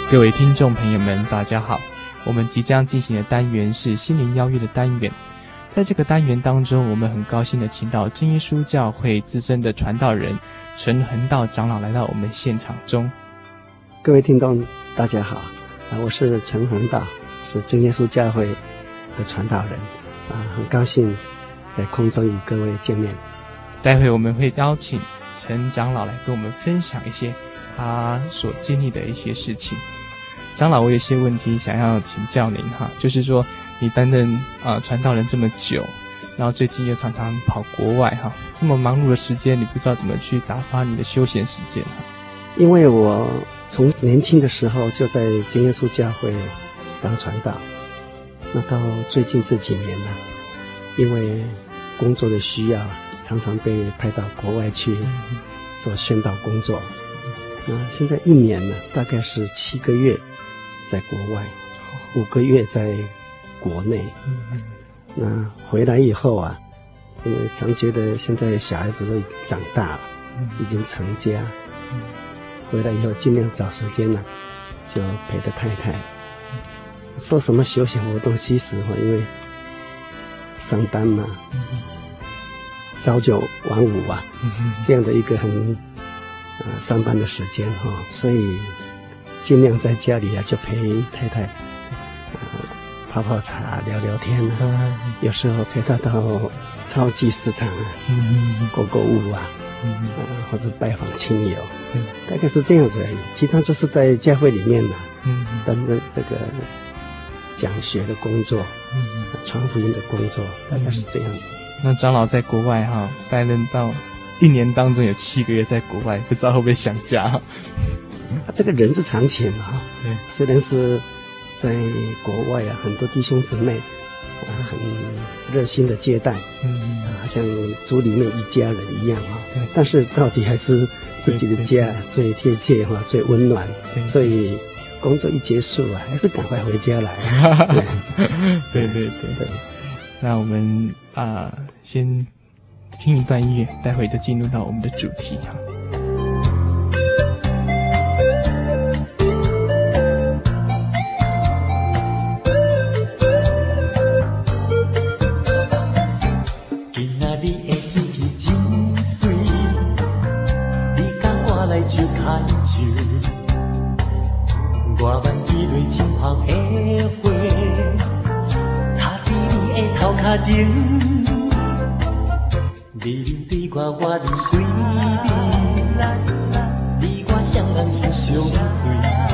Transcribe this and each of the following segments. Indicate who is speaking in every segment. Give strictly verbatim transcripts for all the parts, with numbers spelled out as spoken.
Speaker 1: 各位聽眾朋友們，大家好。我們即將進行的單元是心靈邀約的單元。在這個單元當中，我們很高興的請到真耶穌教會資深的傳道人陳恆道長老來到我們現場中。
Speaker 2: 各位聽眾大家好，啊，我是陳恆道，是真耶穌教會的傳道人，啊，很高興在空中與各位見面。
Speaker 1: 待會我們會邀請陳長老來跟我們分享一些他所經歷的一些事情。長老，我有些問題想要請教您哈，就是說你擔任啊傳道人這麼久，然後最近又常常跑國外哈，這麼忙碌的時間，你不知道怎麼去打發你的休閒時間哈？
Speaker 2: 因為我從年輕的時候就在真耶穌教會當傳道，那到最近這幾年呢，因為工作的需要，常常被派到國外去做宣道工作。那現在一年呢，大概是七個月在國外，五個月在國內。那回來以後啊，因為常覺得現在小孩子都已經長大了，已經成家，回來以後盡量找時間呢，就陪着太太。說什麼休閒活動，其實哈，因為上班嘛，朝九晚五啊，這樣的一個很呃上班的時間哈，所以盡量在家裡啊，就陪太太，呃泡泡茶、聊聊天啊，有時候陪她到超級市場啊，購購物啊，呃，或者拜訪親友，大概是這樣子而已。其他就是在教會裡面呢，擔任這個講學的工作，傳福音的工作，大概是這樣子。
Speaker 1: 那長老在國外哈，擔任到一年當中有七個月在國外，不知道會不會想家哈？
Speaker 2: 啊，這個人之常情啊。
Speaker 1: 對，
Speaker 2: 雖然是在國外啊，很多弟兄姊妹啊，很熱心的接待，嗯，啊，好像族裡面一家人一樣啊。但是到底還是自己的家最貼切哈，最溫暖。所以工作一結束啊，還是趕快回家來。
Speaker 1: 對對對對。那我們啊、呃，先聽一段音樂，待會就進入到我們的主題哈。
Speaker 3: 今仔日的天氣真水，你甲我來招牽手，我挽一蕊金黃的花。頭殼頂，你啉對我，我啉水你，你我雙人是相隨，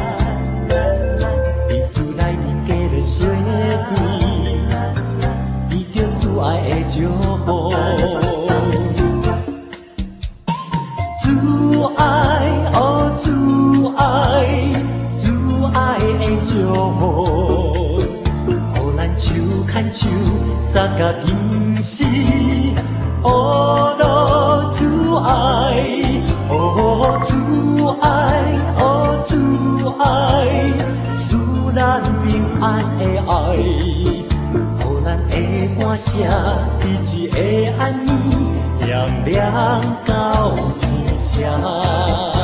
Speaker 3: 你厝內面加了雪櫃，你着主愛的祝福，主愛哦主愛，主愛的祝福，予咱手牽手。三甲平時，哦羅主愛，哦主愛，哦主愛，使咱平安的愛，予咱的歌聲一直會安尼亮亮到天上。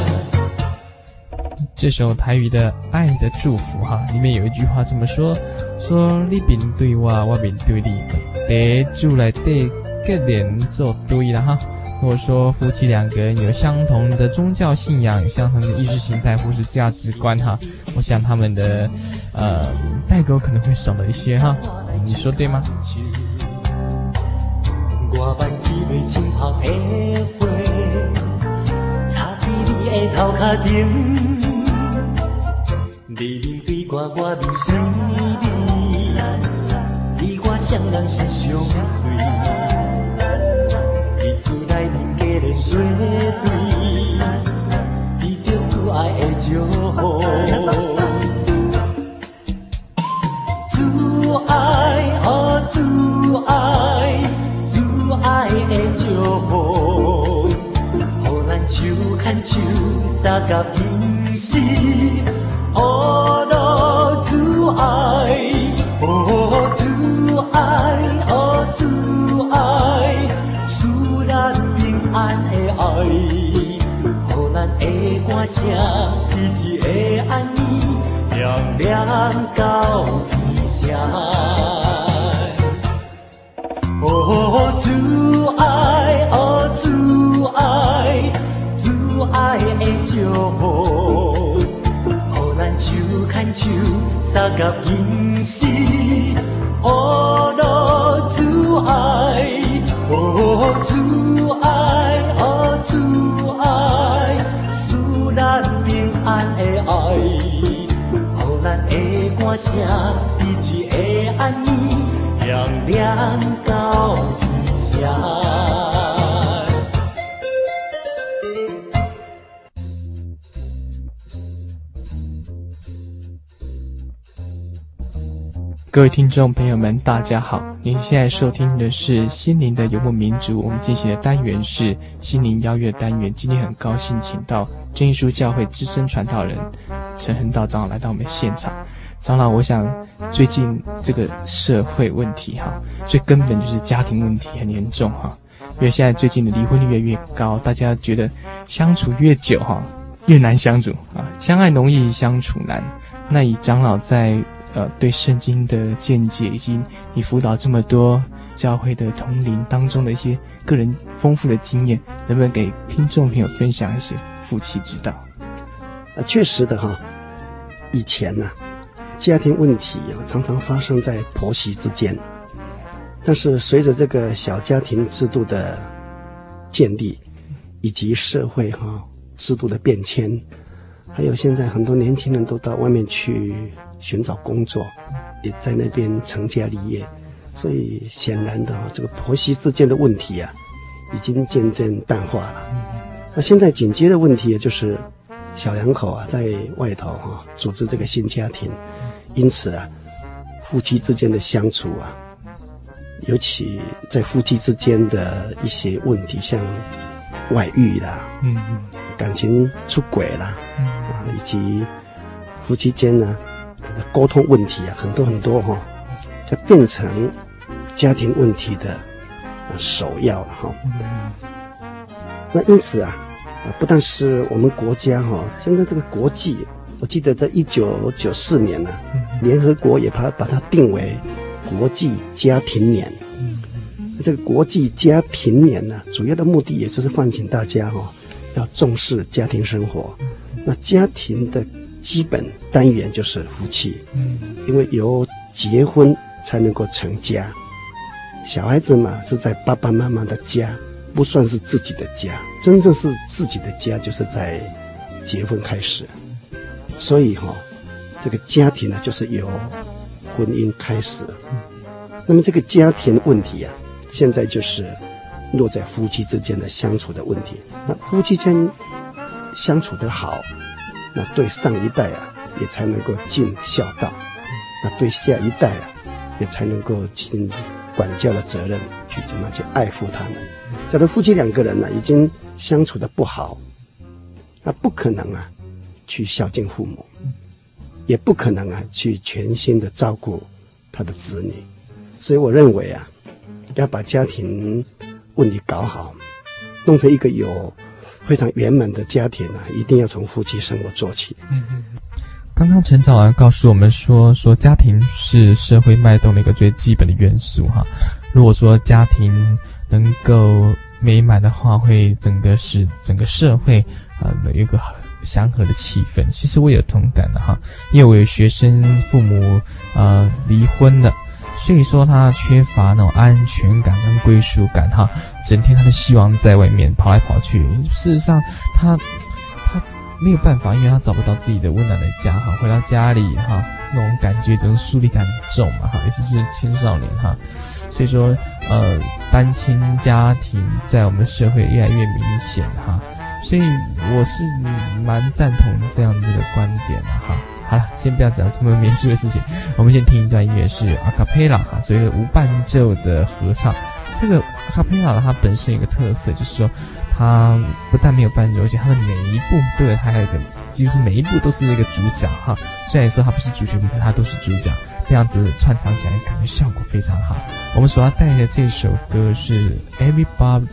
Speaker 1: 這首台語的《愛的祝福》哈，裡面有一句話這麼說：說你面對我，我面對你，在主內底結連做對了哈。如果說夫妻兩個人有相同的宗教信仰，有相同的意識形態或是價值觀哈，我想他們的呃代溝可能會少了一些哈。你說對嗎？
Speaker 3: 我挽一蕊金黃的花，插在你的頭殼頂。你面對我，我面對你，你我雙人是相隨。你厝內面加了雪櫃，你着主愛的祝福。主愛哦主愛，主愛的祝福，予咱手牽手，三甲平時。哦羅主愛，哦主愛，哦主愛，使咱平安的愛，予咱的歌聲一直會安尼亮亮到天上。哦，主愛，哦，主愛，主愛的祝福，予咱手牽手，相甲今世。哦，羅主愛，哦，主愛，哦，主愛，使咱平安的愛，予咱的歌聲一直會安尼。亮亮到天上。
Speaker 1: 各位听众朋友們，大家好！您現在收聽的是心靈的游牧民族，我們進行的單元是心靈邀約單元。今天很高興請到真耶穌教會資深傳道人陳恆道長老來到我們現場。長老，我想最近這個社會問題哈，最根本就是家庭問題很嚴重哈，因為現在最近的離婚率越來越高，大家覺得相處越久哈，越難相處啊，相愛容易相處難。那以長老在呃對聖經的見解，以及你輔導這麼多教會的同齡當中的一些個人豐富的經驗，能不能給聽眾朋友分享一些夫妻之道？
Speaker 2: 啊，確實的哈，以前呢、啊。家庭問題啊，常常發生在婆媳之間，但是隨着這個小家庭制度的建立，以及社會哈、啊、制度的變遷，還有現在很多年輕人都到外面去尋找工作，也在那邊成家立業，所以顯然的啊，這個婆媳之間的問題啊，已經漸漸淡化了。那現在緊接的問題也就是小兩口啊，在外頭哈、啊、組織這個新家庭。因此啊，夫妻之間的相處啊，尤其在夫妻之間的一些問題，像外遇啦，嗯嗯，感情出軌啦，嗯啊，以及夫妻間呢溝通問題啊，很多很多哈、哦，就變成家庭問題的、啊、首要了哈、哦。嗯、那因此啊，啊，不但是我們國家哈、哦，現在這個國際。我記得在一九九四年呢、啊，聯合國也把它把它定為國際家庭年。這個國際家庭年呢，主要的目的也就是喚醒大家哈、哦，要重視家庭生活。那家庭的基本單元就是夫妻，因為由結婚才能夠成家。小孩子嘛是在爸爸媽媽的家，不算是自己的家，真正是自己的家就是在結婚開始。所以哈、哦，這個家庭呢，就是由婚姻開始。那麼這個家庭問題啊，現在就是落在夫妻之間的相處的問題。那夫妻間相處得好，那對上一代啊，也才能夠盡孝道；那對下一代啊，也才能夠盡管教的責任，去怎麼去愛護他們。假如夫妻兩個人呢、啊，已經相處得不好，那不可能啊。去孝敬父母，也不可能啊去全心的照顧他的子女，所以我認為啊，要把家庭問題搞好，弄成一個有非常圓滿的家庭啊，一定要從夫妻生活做起。嗯嗯。
Speaker 1: 剛剛陳長老告訴我們說，說家庭是社會脈動的一個最基本的元素哈。如果說家庭能夠美滿的話，會整個是整個社會啊的一個祥和的氣氛。其實我有同感的哈，因為我有學生父母呃離婚了，所以說他缺乏那種安全感跟歸屬感哈，整天他的希望在外面跑來跑去。事實上他他沒有辦法，因為他找不到自己的溫暖的家哈，回到家裡哈，那種感覺這種疏離感很重嘛哈，尤其是青少年哈，所以說呃單親家庭在我們社會越來越明顯哈。所以我是蠻贊同這樣子的觀點的哈。好了，先不要講這麼嚴肅的事情，我們先聽一段音樂，是阿卡貝拉哈，所謂的無伴奏的合唱。這個阿卡貝拉呢，它本身有一個特色，就是說它不但沒有伴奏，而且它的每一步對它還有一個，幾乎每一步都是那個主角哈。雖然說它不是主旋律，但它都是主角，這樣子串唱起來感覺效果非常好。我們所要帶的這首歌是 Everybody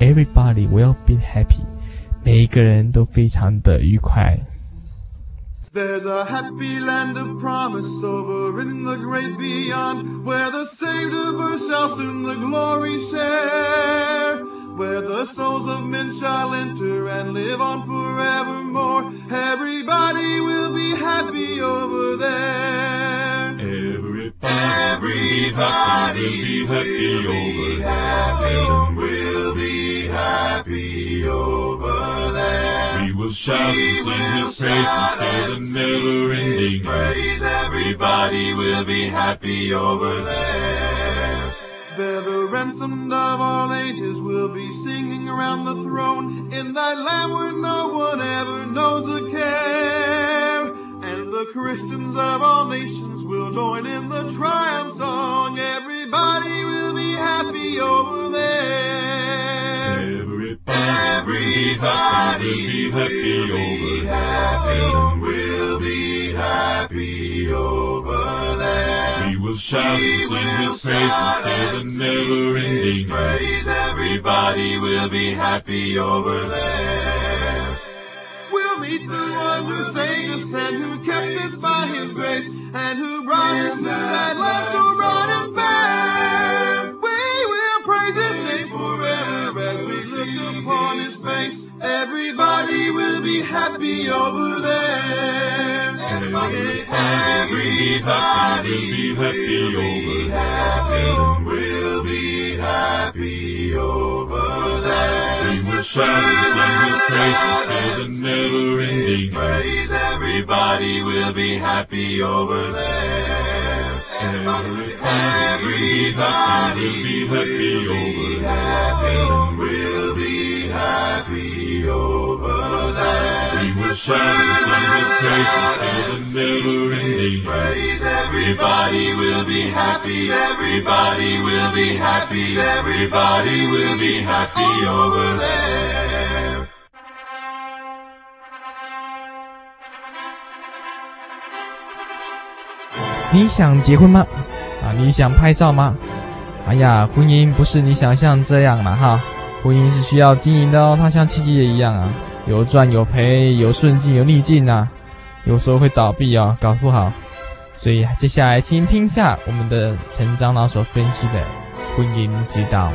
Speaker 1: Everybody Will Be Happy。每一個人都非常的愉快。
Speaker 4: There's a happy land of promise over in the great beyond, where the saved of earth shall soon the glory share, where the souls of men shall enter and live on forevermore. Everybody will be happy over there.
Speaker 5: Everybody, everybody will be happy over there.
Speaker 4: We'll be happy over there.
Speaker 5: We will shout and sing His praise and stay the never-ending
Speaker 4: praise. Everybody will be happy over there. There the ransomed of all ages will be singing around the throne, in that land where no one ever knows a care. And the Christians of all nations will join in the triumph song. Everybody will be happy over there.
Speaker 5: Everybody, everybody will be happy over there. We will shout and sing His praise and stay the never-ending
Speaker 4: praise. Everybody will be happy over there. We'll meet the one who saved us and who kept us by His grace, and who brought us to that land so bright and fair. We will praise His name forever as we look upon His face. Everybody will be happy over there.
Speaker 5: Everybody, everybody
Speaker 4: be happy over there. We'll be happy over there.
Speaker 5: We will shout and sing His praise and stay the never-ending
Speaker 4: praise. Everybody will be happy over there.
Speaker 5: Everybody,
Speaker 4: everybody
Speaker 5: be happy over
Speaker 4: there. We'll be happy over there.
Speaker 5: We will shout and sing His praise and stay the never-ending
Speaker 4: praise. Everybody will be happy. Everybody will be happy. Everybody will be happy over there.
Speaker 1: 你想結婚嗎？啊，你想拍照嗎？哎呀，婚姻不是你想象這樣啦哈，婚姻是需要經營的哦，它像企業一樣啊，有賺有賠，有順境有逆境啊，有時候會倒閉哦，搞不好。所以接下來請聽下我們的陳長老所分析的婚姻之道。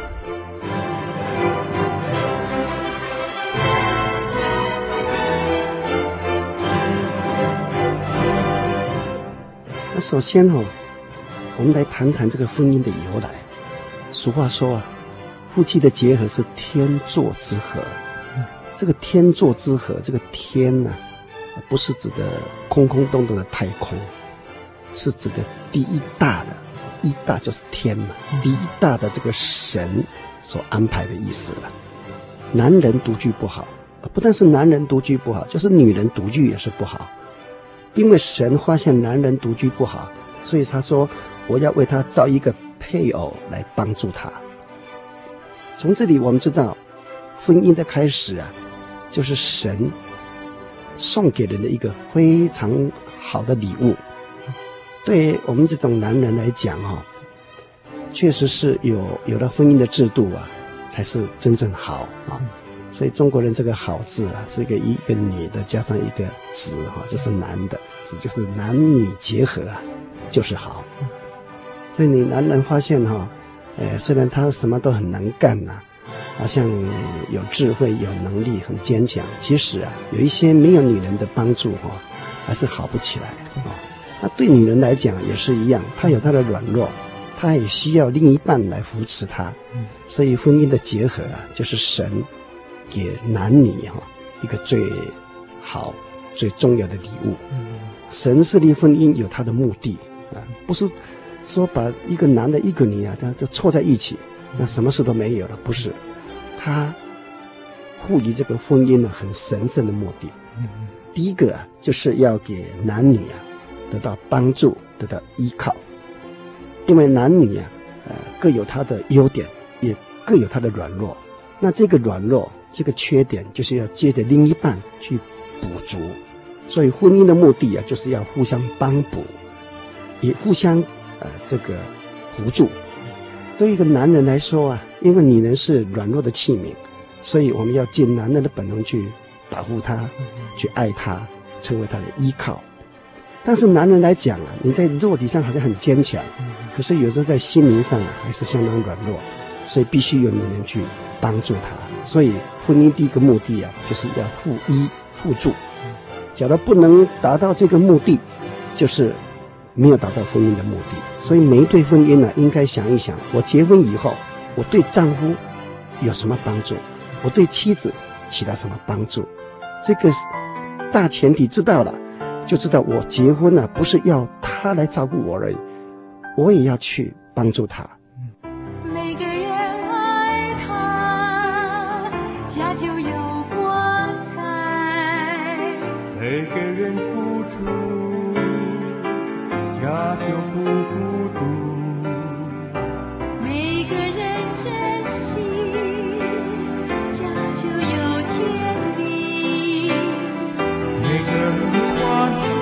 Speaker 2: 那首先哦，我們來談談這個婚姻的由來。俗話說啊，夫妻的結合是天作之合。嗯、這個天作之合，這個天呢、啊，不是指的空空洞洞的太空，是指的第一大的，一大就是天嘛，嗯、第一大的這個神所安排的意思了。男人獨居不好，不但是男人獨居不好，就是女人獨居也是不好。因為神發現男人獨居不好，所以他說我要為他造一個配偶來幫助他。從這裡我們知道，婚姻的開始啊，就是神送給人的一個非常好的禮物。對我們這種男人來講哈、哦，確實是有有了婚姻的制度啊，才是真正好啊。所以中國人這個好字啊，是一個一個女的加上一個子哈，就是男的子，就是男女結合啊，就是好。所以你男人發現哈、哦，呃，雖然他什麼都很能幹吶、啊，好像有智慧、有能力、很堅強，其實啊，有一些沒有女人的幫助哈、哦，還是好不起來啊、哦。那對女人來講也是一樣，她有她的軟弱，她也需要另一半來扶持她。所以婚姻的結合啊，就是神給男女哈一個最好、最重要的禮物。神設立婚姻有他的目的啊，不是說把一個男的、一個女啊，這樣就湊在一起，那什麼事都沒有了。不是，他賦予這個婚姻呢很神聖的目的。第一個啊，就是要給男女啊得到幫助、得到依靠，因為男女啊，呃，各有他的優點，也各有他的軟弱。那這個軟弱，這個缺點就是要借着另一半去補足，所以婚姻的目的啊，就是要互相幫補，也互相呃這個扶助。對一個男人來說啊，因為女人是軟弱的器皿，所以我們要盡男人的本能去保護她，去愛她， 成為他的依靠。但是男人來講啊，你在肉體上好像很堅強，可是有時候在心靈上啊還是相當軟弱，所以必須有女人去幫助他。所以婚姻第一個目的啊，就是要互依互助。假如不能達到這個目的，就是沒有達到婚姻的目的。所以每一對婚姻呢、啊，應該想一想，我結婚以後，我對丈夫有什麼幫助，我對妻子起到什麼幫助。這個大前提知道了，就知道我結婚了、啊、不是要他來照顧我而已，我也要去幫助他。
Speaker 6: 每個人愛他，家就有光彩；
Speaker 3: 每個人付出，家就不孤獨；
Speaker 6: 每個人珍惜，家就有甜蜜；
Speaker 3: 每個人寬恕，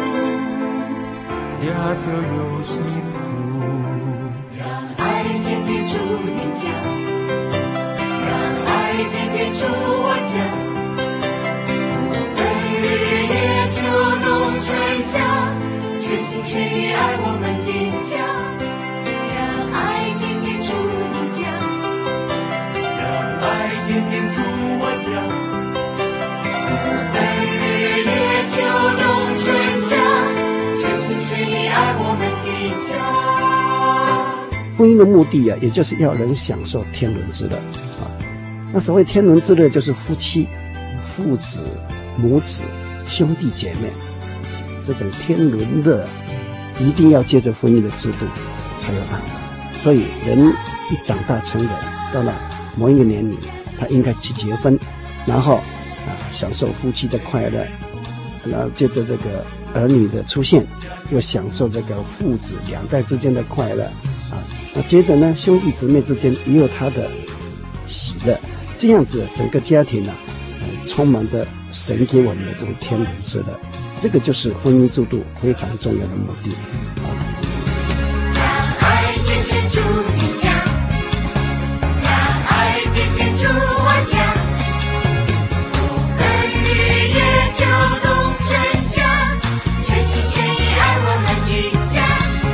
Speaker 3: 家就有幸福。
Speaker 6: 讓愛天天住你家，讓愛天天住我家，不分日夜秋冬春夏，全心全意愛我們的家。讓愛天天住你家，
Speaker 3: 讓愛天天住我家，
Speaker 6: 不分日夜秋冬春夏，全心全意愛我們的家。
Speaker 2: 婚姻的目的啊，也就是要人享受天倫之樂啊。那所謂天倫之樂，就是夫妻、父子、母子、兄弟姐妹這種天倫樂，一定要借着婚姻的制度才有辦法。所以人一長大成人，到了某一個年齡，他應該去結婚，然後啊享受夫妻的快樂，然後借着這個兒女的出現，又享受這個父子兩代之間的快樂。那接着呢，兄弟姊妹之間也有他的喜樂，這樣子整個家庭呢、啊呃，充滿着神給我們的這種天倫之樂，這個就是婚姻制度非常重要的目的。啊，
Speaker 6: 讓愛天天住你家，讓愛天天住我家，不分日夜秋冬春夏，全心全意愛我們的家。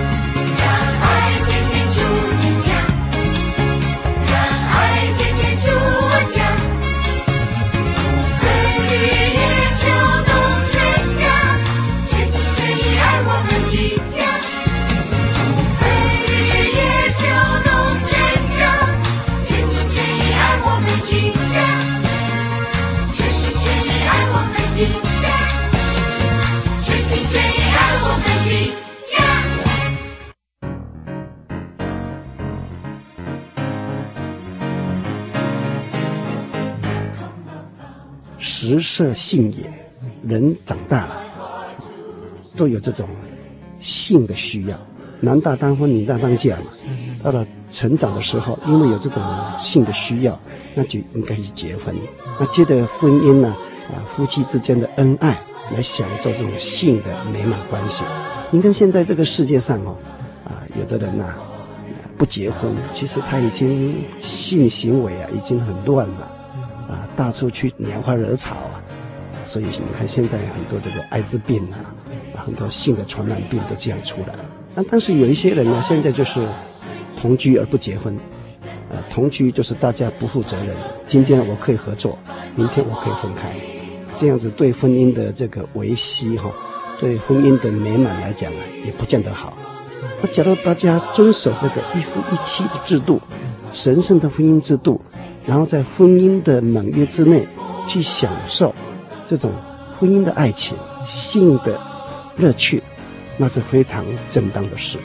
Speaker 2: 食色性也，人長大了都有這種性的需要，男大當婚，女大當嫁嘛。到了成長的時候，因為有這種性的需要，那就應該去結婚。那接着婚姻呢，啊，夫妻之間的恩愛，來享受這種性的美滿關係。你看現在這個世界上哦，啊，有的人吶、啊，不結婚，其實他已經性行為啊，已經很亂了。啊，到處去拈花惹草啊，所以你看現在很多這個艾滋病啊，啊很多性的傳染病都這樣出來了。但但是有一些人呢，現在就是同居而不結婚，啊，同居就是大家不負責任。今天我可以合作，明天我可以分開，這樣子對婚姻的這個維繫哈，對婚姻的美滿來講啊，也不見得好。那假如大家遵守這個一夫一妻的制度，神聖的婚姻制度，然後在婚姻的盟約之內去享受這種婚姻的愛情、性的樂趣，那是非常正當的事。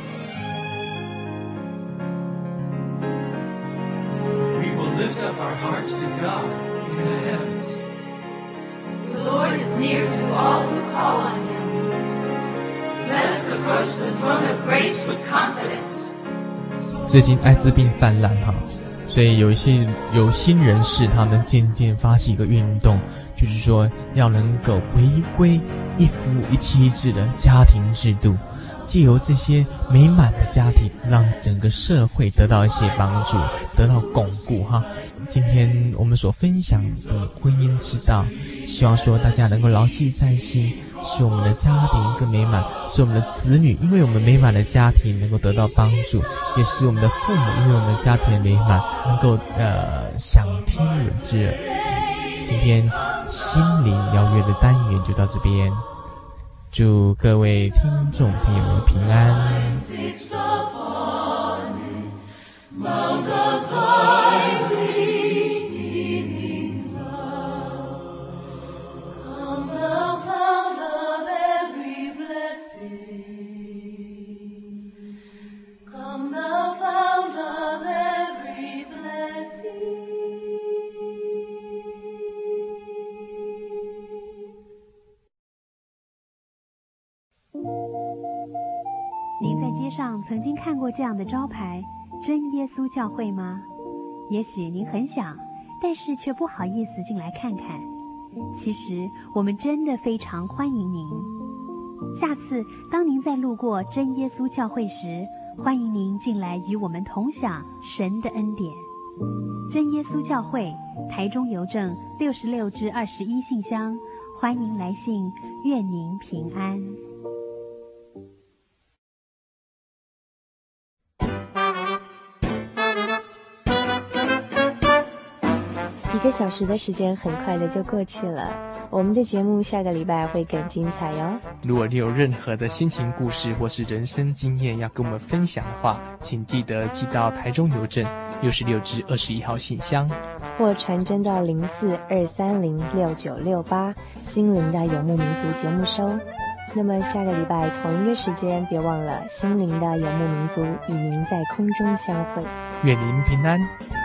Speaker 3: We will lift up our hearts to God in the heavens.
Speaker 6: The Lord is near to all who call on Him. Let us approach the throne of grace with confidence.
Speaker 1: 最近艾滋病泛濫哈。所以有一些有心人士，他們漸漸發起一個運動，就是說要能夠回歸一夫一妻制的家庭制度，藉由這些美滿的家庭，讓整個社會得到一些幫助，得到鞏固哈。今天我們所分享的婚姻之道，希望說大家能夠牢記在心， 使我們的家庭更美滿，使我們的子女因為我們美滿的家庭能夠得到幫助，也使我們的父母因為我們的家庭的美滿能夠呃享天倫之樂。今天心靈邀約的單元就到這邊，祝各位聽眾朋友們平安。
Speaker 7: 您在街上曾经看过这樣的招牌真耶穌教會嗎？也許您很想，但是卻不好意思進來看看。其實我們真的非常歡迎您。下次當您再路過真耶穌教會時，歡迎您進來與我們同享神的恩典。真耶穌教會，台中郵政六十六至二十一信箱，歡迎來信，願您平安。
Speaker 8: 一個小時的時間很快的就過去了，我們的節目下個禮拜會更精彩喲。
Speaker 1: 如果你有任何的心情故事或是人生經驗要跟我們分享的話，請記得寄到台中郵政六十六至二十一號信箱，
Speaker 8: 或傳真到零四二三零六九六八心靈的游牧民族節目收。那麼下個禮拜同一個時間，別忘了心靈的游牧民族與您在空中相會。
Speaker 1: 願您平安。